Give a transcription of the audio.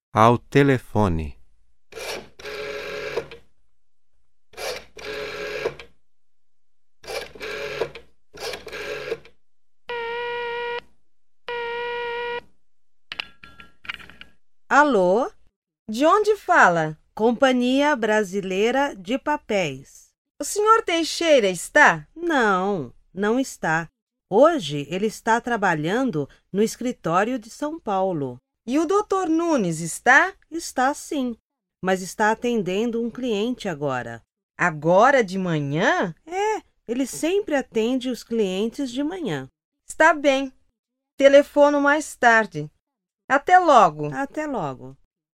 Ao telefone. Alô? De onde fala? Companhia Brasileira de Papéis. O senhor Teixeira está? Não, não está. Hoje ele está trabalhando no escritório de São Paulo. E o doutor Nunes está? Está sim, mas está atendendo um cliente agora. Agora de manhã? Ele sempre atende os clientes de manhã. Está bem. Telefono mais tarde. Até logo. Até logo.